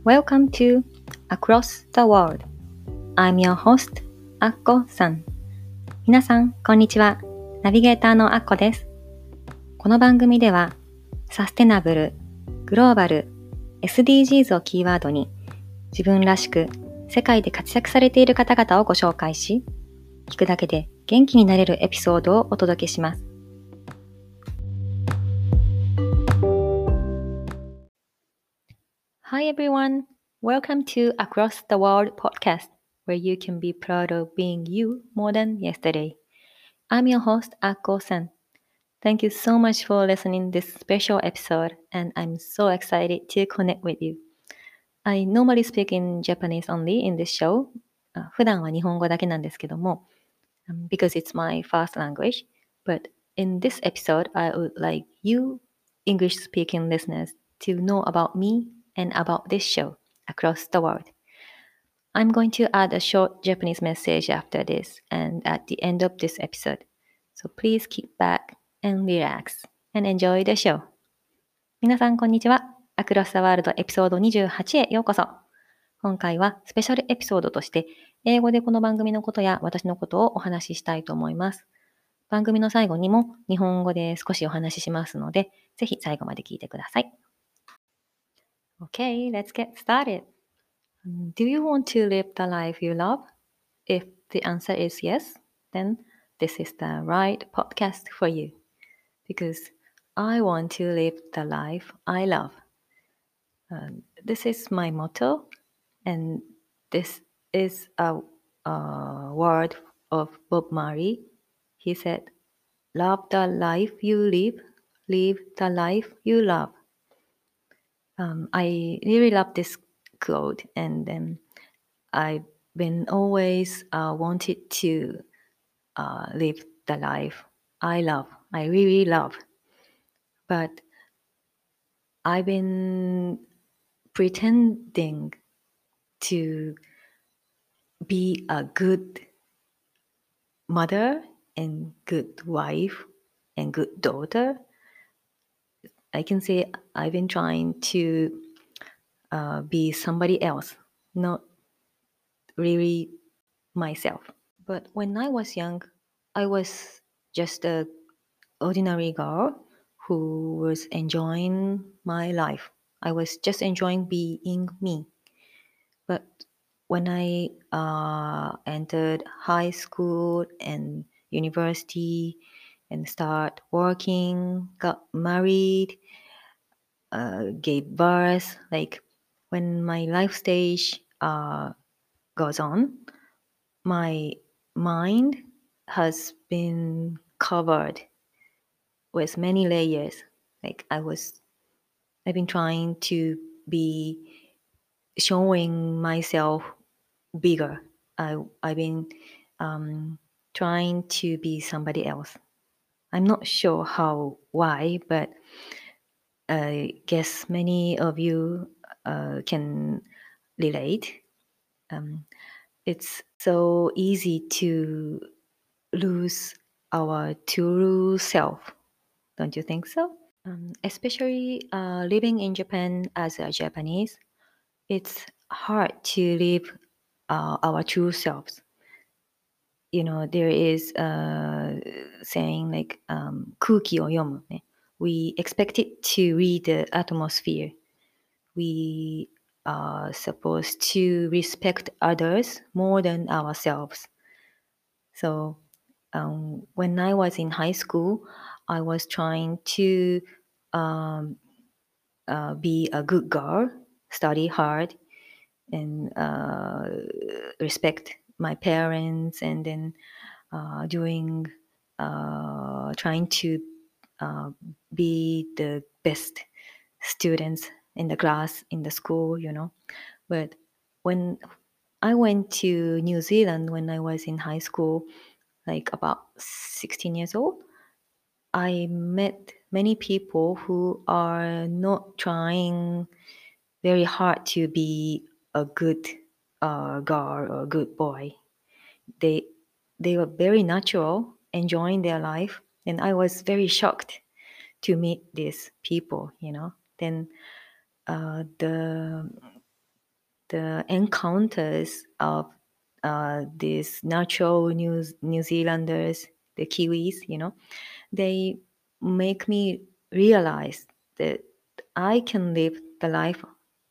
Welcome to Across the World. I'm your host, アッコさん。皆さん、こんにちは。ナビゲーターのアッコです。この番組では、サステナブル、グローバル、SDGs をキーワードに、自分らしく世界で活躍されている方々をご紹介し、聞くだけで元気になれるエピソードをお届けします。Hi everyone, welcome to Across the World podcast, where you can be proud of being you more than yesterday. I'm your host, Akko-san. Thank you so much for listening this special episode, and I'm so excited to connect with you. I normally speak in Japanese only in this show. 普段は日本語だけなんですけども、because it's my first language. But in this episode, I would like you English-speaking listeners to know about me and about this show across the world. I'm going to add a short Japanese message after this and at the end of this episode. So please keep back and relax and enjoy the show. 皆さんこんにちは。アクロスザワールドエピソード28へようこそ。今回はスペシャルエピソードとして英語でこの番組のことや私のことをお話ししたいと思います。番組の最後にも日本語で少しお話ししますので、ぜひ最後まで聞いてください。Okay, let's get started. Do you want to live the life you love? If the answer is yes, then this is the right podcast for you. Because I want to live the life I love. This is my motto, and this is a word of Bob Marley. He said, "Love the life you live the life you love." I really love this quote, and I've been always wanted to live the life I love. I really love, but I've been pretending to be a good mother and good wife and good daughter. I can say I've been trying to be somebody else, not really myself. But when I was young, I was just a ordinary girl who was enjoying my life. I was just enjoying being me. But when I entered high school and university and start working, got married, gave birth, like when my life stage goes on, my mind has been covered with many layers. Like I've been trying to be showing myself bigger. I've been trying to be somebody else. I'm not sure why, but I guess many of you can relate. It's so easy to lose our true self. Don't you think so? Especially living in Japan as a Japanese, it's hard to live our true selves. You know, there is a saying like 空気を読むね。We expected to read the atmosphere. We are supposed to respect others more than ourselves. So when I was in high school, I was trying to be a good girl, study hard, and respect my parents, and then trying to be the best students in the class, in the school, you know. But when I went to New Zealand when I was in high school, like about 16 years old, I met many people who are not trying very hard to be a good girl or a good boy. They were very natural, enjoying their life, and I was very shocked to meet these people. You know, then the the encounters of these natural New Zealanders, the Kiwis, they make me realize that I can live the life,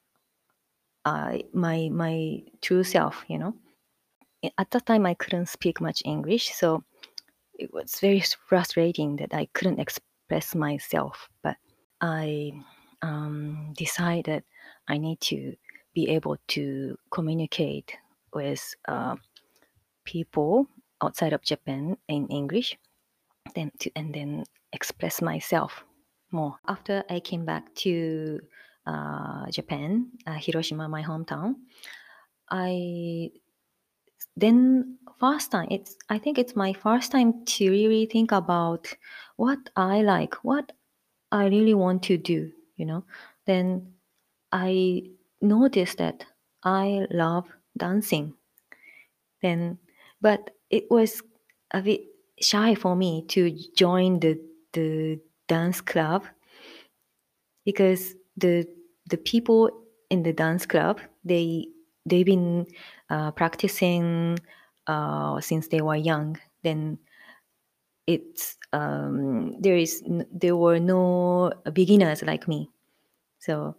my true self. At that time, I couldn't speak much English, so it was very frustrating that I couldn't express myself. But I decided I need to be able to communicate with people outside of Japan in English, and then express myself more. After I came back to Japan, Hiroshima, my hometown, I then first time I think it's my first time to really think about what I like, what I really want to do. Then I noticed that I love dancing. Then, but it was a bit shy for me to join the dance club, because the people in the dance club, they've been practicing since they were young. Then it's there were no beginners like me, so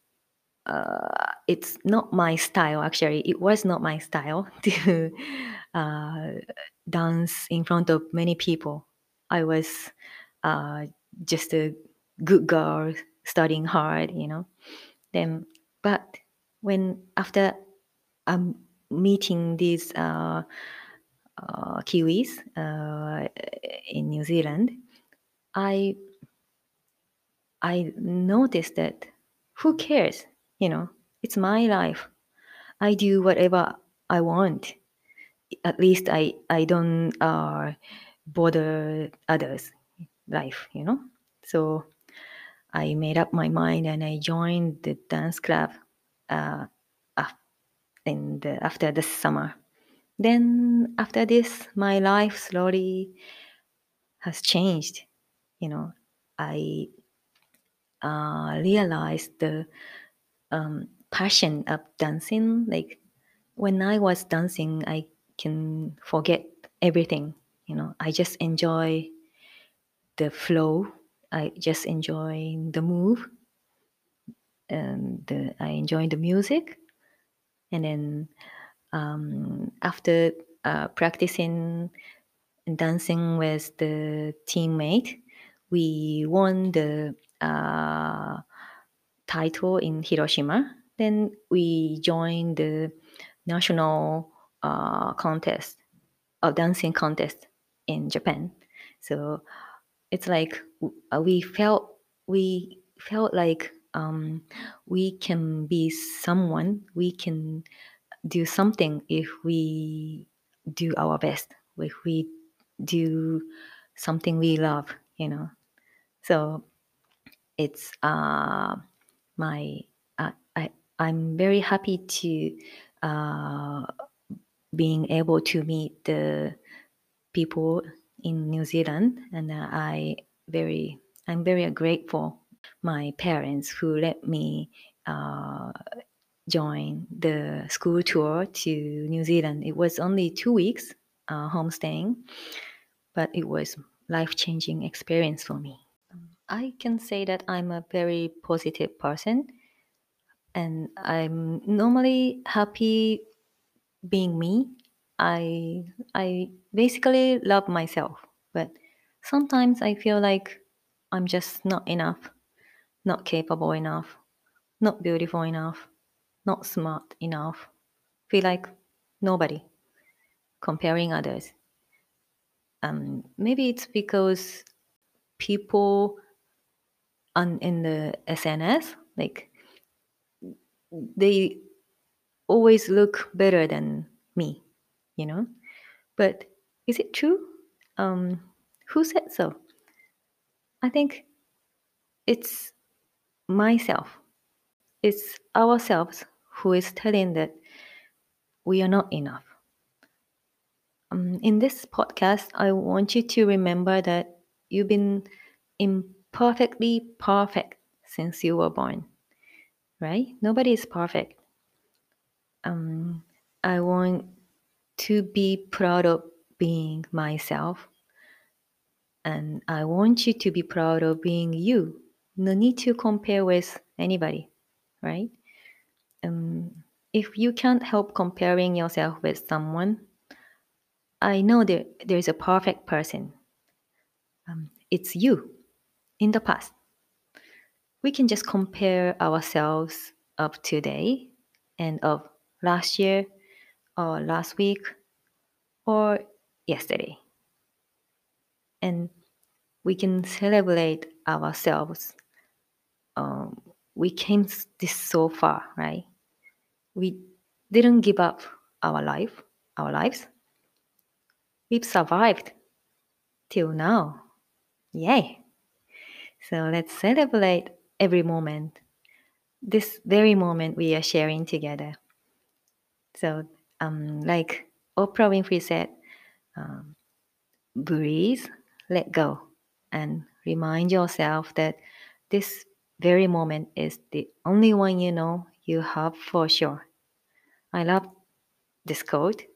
it's not my style. Actually, it was not my style to uh, dance in front of many people. I was just a good girl studying hard. Then, but when after meeting these Kiwis in New Zealand, I noticed that who cares? It's my life. I do whatever I want. At least I don't bother others' life. So I made up my mind and I joined the dance club uh, after the summer. Then after this, my life slowly has changed. I realized the passion of dancing. Like when I was dancing, I can forget everything. I just enjoy the flow. I just enjoy the move, and I enjoy the music. And then after practicing and dancing with the teammate, we won the title in Hiroshima. Then we joined the national contest, a dancing contest in Japan. So it's like we felt like we can be someone. We can do something if we do our best. If we do something we love. So it's my I'm very happy to being able to meet the people in New Zealand, and I'm very grateful my parents who let me join the school tour to New Zealand. It was only 2 weeks homestaying, but it was life-changing experience for me. I can say that I'm a very positive person, and I'm normally happy being me. I basically love myself, but sometimes I feel like I'm just not enough, not capable enough, not beautiful enough, not smart enough. Feel like nobody, comparing others. Maybe it's because people in the SNS, like they always look better than me, you know. But is it true? Who said so? I think it's myself. It's ourselves who is telling that we are not enough. In this podcast, I want you to remember that you've been imperfectly perfect since you were born, right? Nobody is perfect. I want to be proud of being myself, and I want you to be proud of being you. No need to compare with anybody, right? If you can't help comparing yourself with someone, I know that there's a perfect person. It's you in the past. We can just compare ourselves of today and of last year or last week or yesterday. And we can celebrate ourselves. We came this so far, right? We didn't give up our lives. We've survived till now. Yay! So let's celebrate every moment. This very moment we are sharing together. So, like Oprah Winfrey said, breathe, let go, and remind yourself that this very moment is the only one you know you have for sure. I love this quote.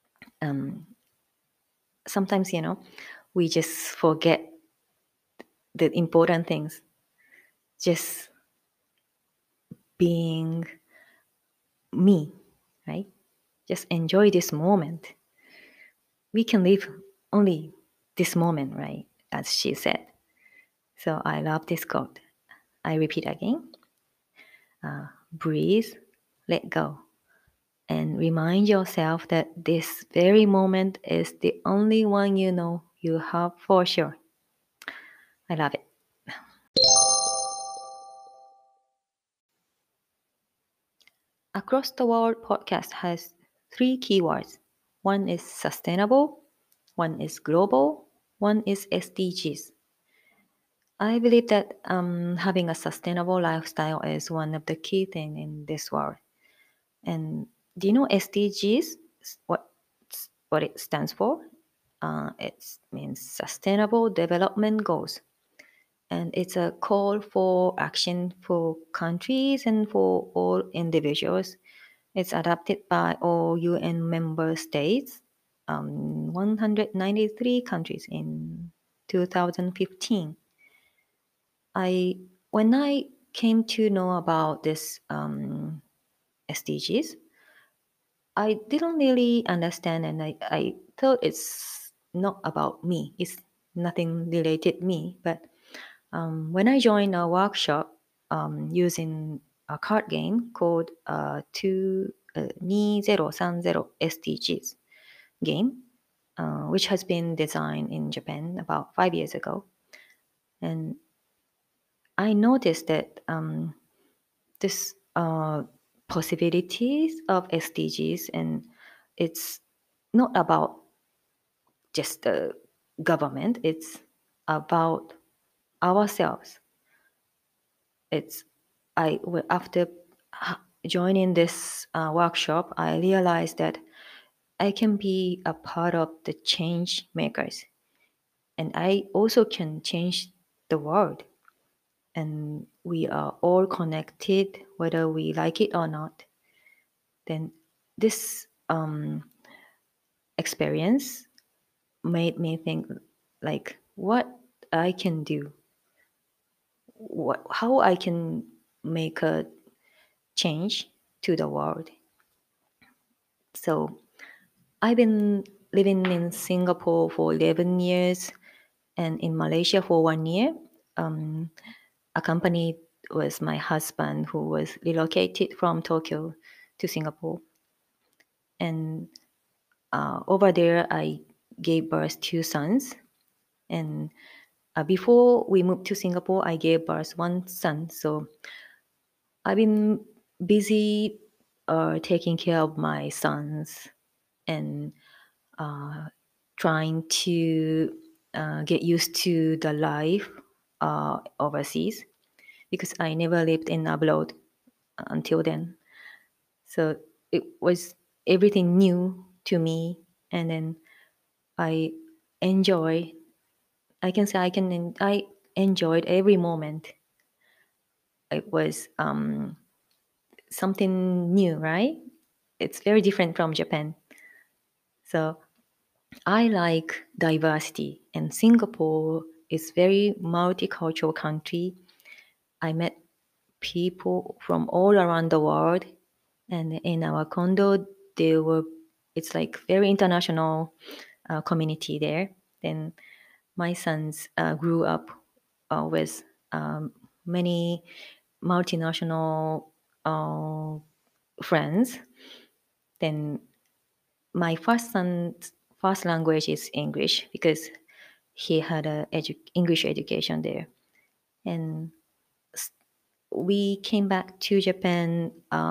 Sometimes, we just forget the important things. Just being me, right? Just enjoy this moment. We can live only this moment, right? As she said. So I love this quote. I repeat again. Breathe, let go, and remind yourself that this very moment is the only one you know you have for sure. I love it. Across the World podcast has three keywords. One is sustainable, one is global, one is SDGs. I believe that having a sustainable lifestyle is one of the key things in this world. And do you know SDGs? What what it stands for? It means Sustainable Development Goals, and it's a call for action for countries and for all individuals. It's adopted by all UN member states, 193 countries in 2015. When I came to know about this SDGs, I didn't really understand, and I thought it's not about me. It's nothing related me. But when I joined a workshop using a card game called 2030 SDGs game, which has been designed in Japan about 5 years ago, and I noticed that this possibilities of SDGs, and it's not about just the government, it's about ourselves. It's after joining this workshop, I realized that I can be a part of the change makers, and I also can change the world. And we are all connected, whether we like it or not. Then this experience made me think like what I can do, how I can make a change to the world. So I've been living in Singapore for 11 years and in Malaysia for 1 year, accompanied with my husband who was relocated from Tokyo to Singapore. And over there, I gave birth to sons. And before we moved to Singapore, I gave birth one son. So I've been busy taking care of my sons and trying to get used to the life overseas because I never lived in abroad until then. So it was everything new to me, and then I enjoy. I enjoyed every moment. It was something new, right? it's very different from Japan. So I like diversity, and Singapore is very multicultural country. I met people from all around the world, and in our condo, it's like very international community there. Then my sons grew up with many multinational friends. Then my first son's first language is English because he had a English education there. And we came back to Japan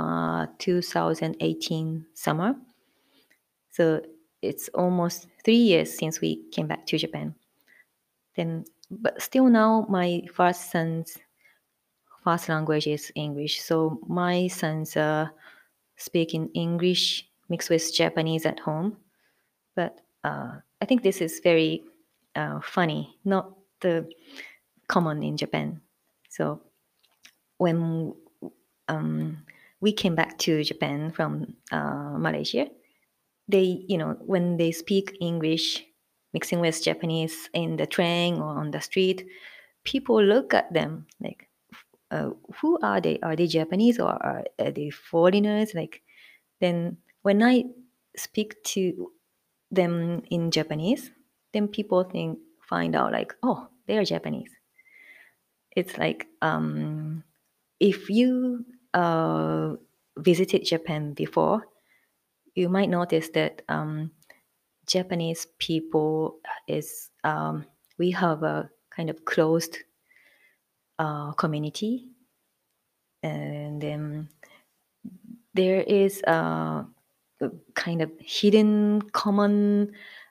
2018 summer. So it's almost 3 years since we came back to Japan. Then, but still now my first son's first language is English. So my sons speak in English mixed with Japanese at home. But I think this is very funny, not the common in Japan. So when we came back to Japan from Malaysia, when they speak English mixing with Japanese in the train or on the street, people look at them like, who are they? Are they Japanese or are they foreigners? Like, then when I speak to them in Japanese, then people find out like, oh, they are Japanese. It's like if you visited Japan before, you might notice that Japanese people is we have a kind of closed community, and then there is a kind of hidden common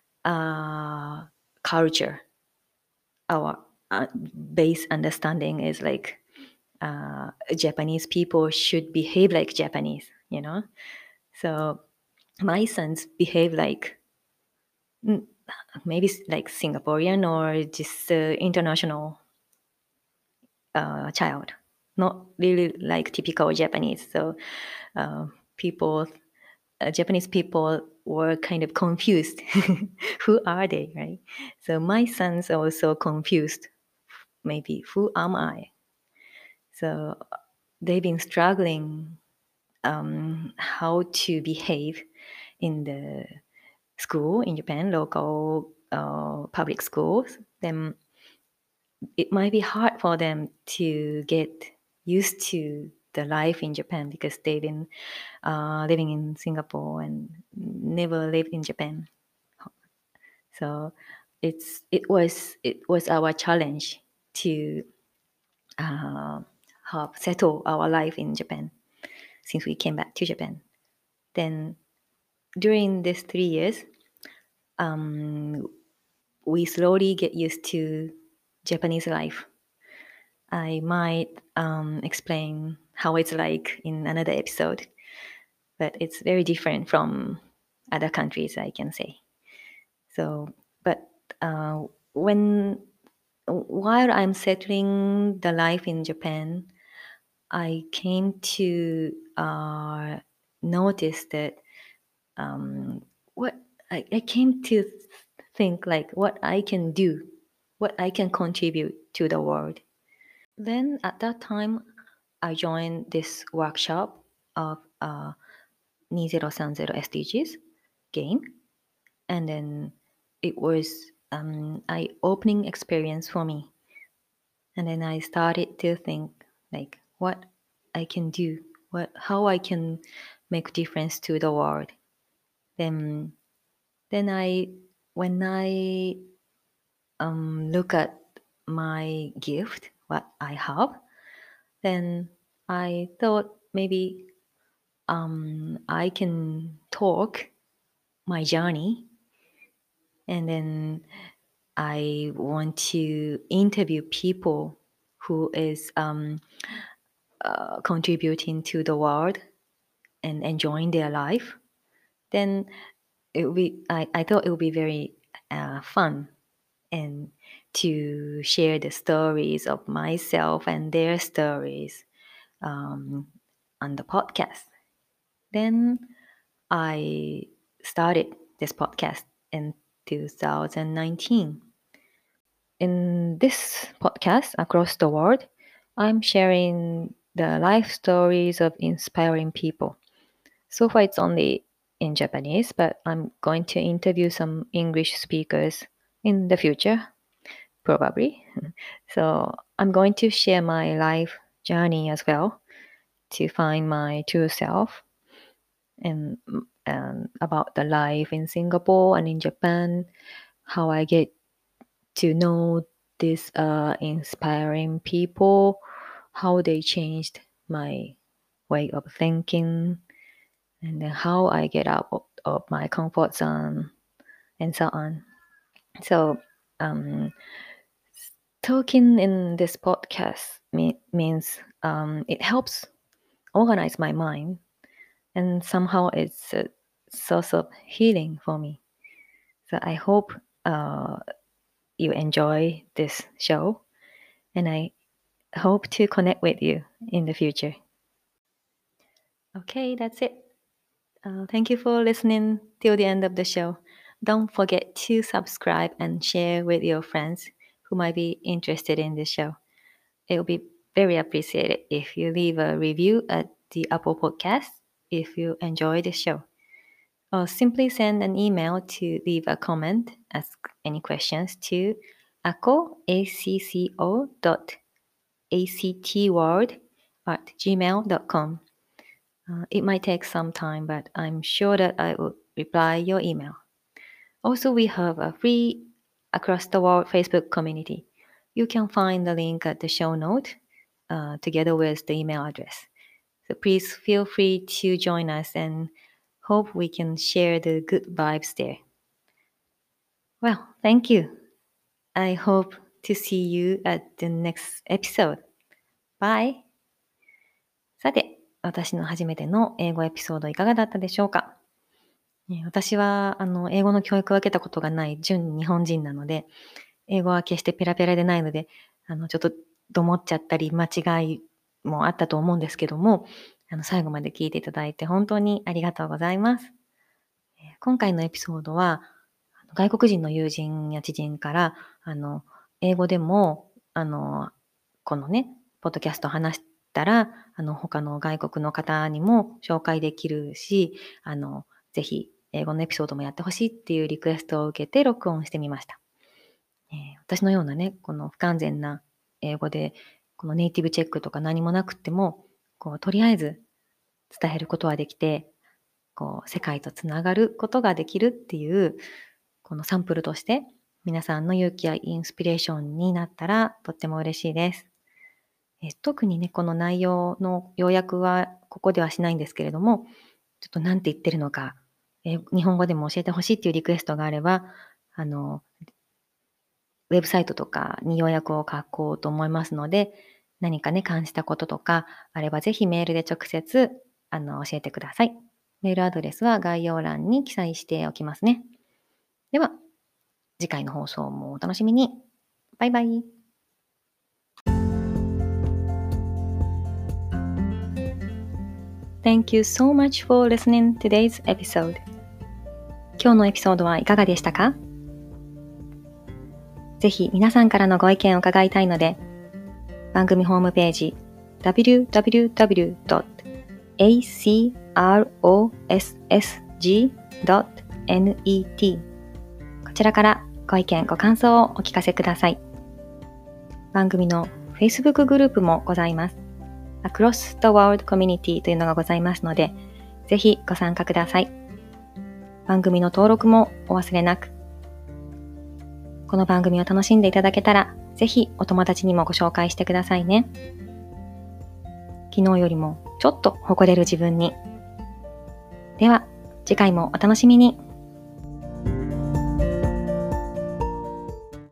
culture. Our base understanding is like Japanese people should behave like Japanese, So my sons behave like maybe like Singaporean or just international child, not really like typical Japanese. So people, Japanese people were kind of confused. Who are they, right? So my sons are also confused. Maybe who am I? So they've been struggling how to behave in the school in Japan, local public schools. Then it might be hard for them to get used to the life in Japan because they've been living in Singapore and never lived in Japan. So it was our challenge to help settle our life in Japan since we came back to Japan. Then during these 3 years, we slowly get used to Japanese life. I might explain how it's like in another episode, but it's very different from other countries, I can say. So, but while I'm settling the life in Japan, I came to notice that I came to think like what I can do, what I can contribute to the world. Then at that time, I joined this workshop of 2030 SDGs game, and then it was an eye-opening experience for me. And then I started to think like what I can do, how I can make difference to the world. Then when I look at my gift, what I have, then I thought maybe I can talk my journey, and then I want to interview people who is contributing to the world and enjoying their life. Then I thought it would be very fun and to share the stories of myself and their stories on the podcast. Then I started this podcast in 2019. In this podcast, Across the World, I'm sharing the life stories of inspiring people. So far, it's only in Japanese, but I'm going to interview some English speakers in the future, probably. So I'm going to share my life journey as well to find my true self and, about the life in Singapore and in Japan, how I get to know these inspiring people, how they changed my way of thinking, and then how I get out of my comfort zone, and so on. So, talking in this podcast means it helps organize my mind, and somehow it's a source of healing for me. So I hope you enjoy this show, and I hope to connect with you in the future. Okay, that's it. Thank you for listening till the end of the show. Don't forget to subscribe and share with your friends who might be interested in this show. It will be very appreciated if you leave a review at the Apple Podcast if you enjoy the show. Or simply send an email to leave a comment, ask any questions to acco@gmail.com. It might take some time, but I'm sure that I will reply your email. Also, we have a free Across the World Facebook community. You can find the link at the show note together with the email address. So please feel free to join us and hope we can share the good vibes there. Well, thank you. I hope to see you at the next episode. Bye! さて、私の初めての英語エピソードいかがだったでしょうか？私は英語の教育を受けたことがない純日本人なので、英語は決してペラペラでないので、ちょっとどもっちゃったり間違いもあったと思うんですけども、最後まで聞いていただいて本当にありがとうございます。今回のエピソードは、外国人の友人や知人から、英語でも、このね、ポッドキャストを話したら、他の外国の方にも紹介できるし、ぜひ英語のエピソードもやってほしいっていうリクエストを受けて録音してみました。私のようなね、この不完全な英語で、このネイティブチェックとか何もなくっても、とりあえず伝えることはできて、世界とつながることができるっていう、このサンプルとして、皆さんの勇気やインスピレーションになったらとっても嬉しいです。特にね、この内容の要約はここではしないんですけれども、ちょっと何て言ってるのか、日本語でも教えてほしいっていうリクエストがあれば、ウェブサイトとかに要約を書こうと思いますので、何かね、感じたこととかあれば、ぜひメールで直接教えてください。メールアドレスは概要欄に記載しておきますね。では、次回の放送もお楽しみに。バイバイ。Thank you so much for listening today's episode. 今日のエピソードはいかがでしたか？ぜひ皆さんからのご意見を伺いたいので、番組ホームページ www.acrossg.net こちらからご意見ご感想をお聞かせください。番組の Facebook グループもございます。Across the World Community というのがございますので、ぜひご参加ください。番組の登録もお忘れなく。この番組を楽しんでいただけたら、ぜひお友達にもご紹介してくださいね。昨日よりもちょっと誇れる自分に。では、次回もお楽しみに。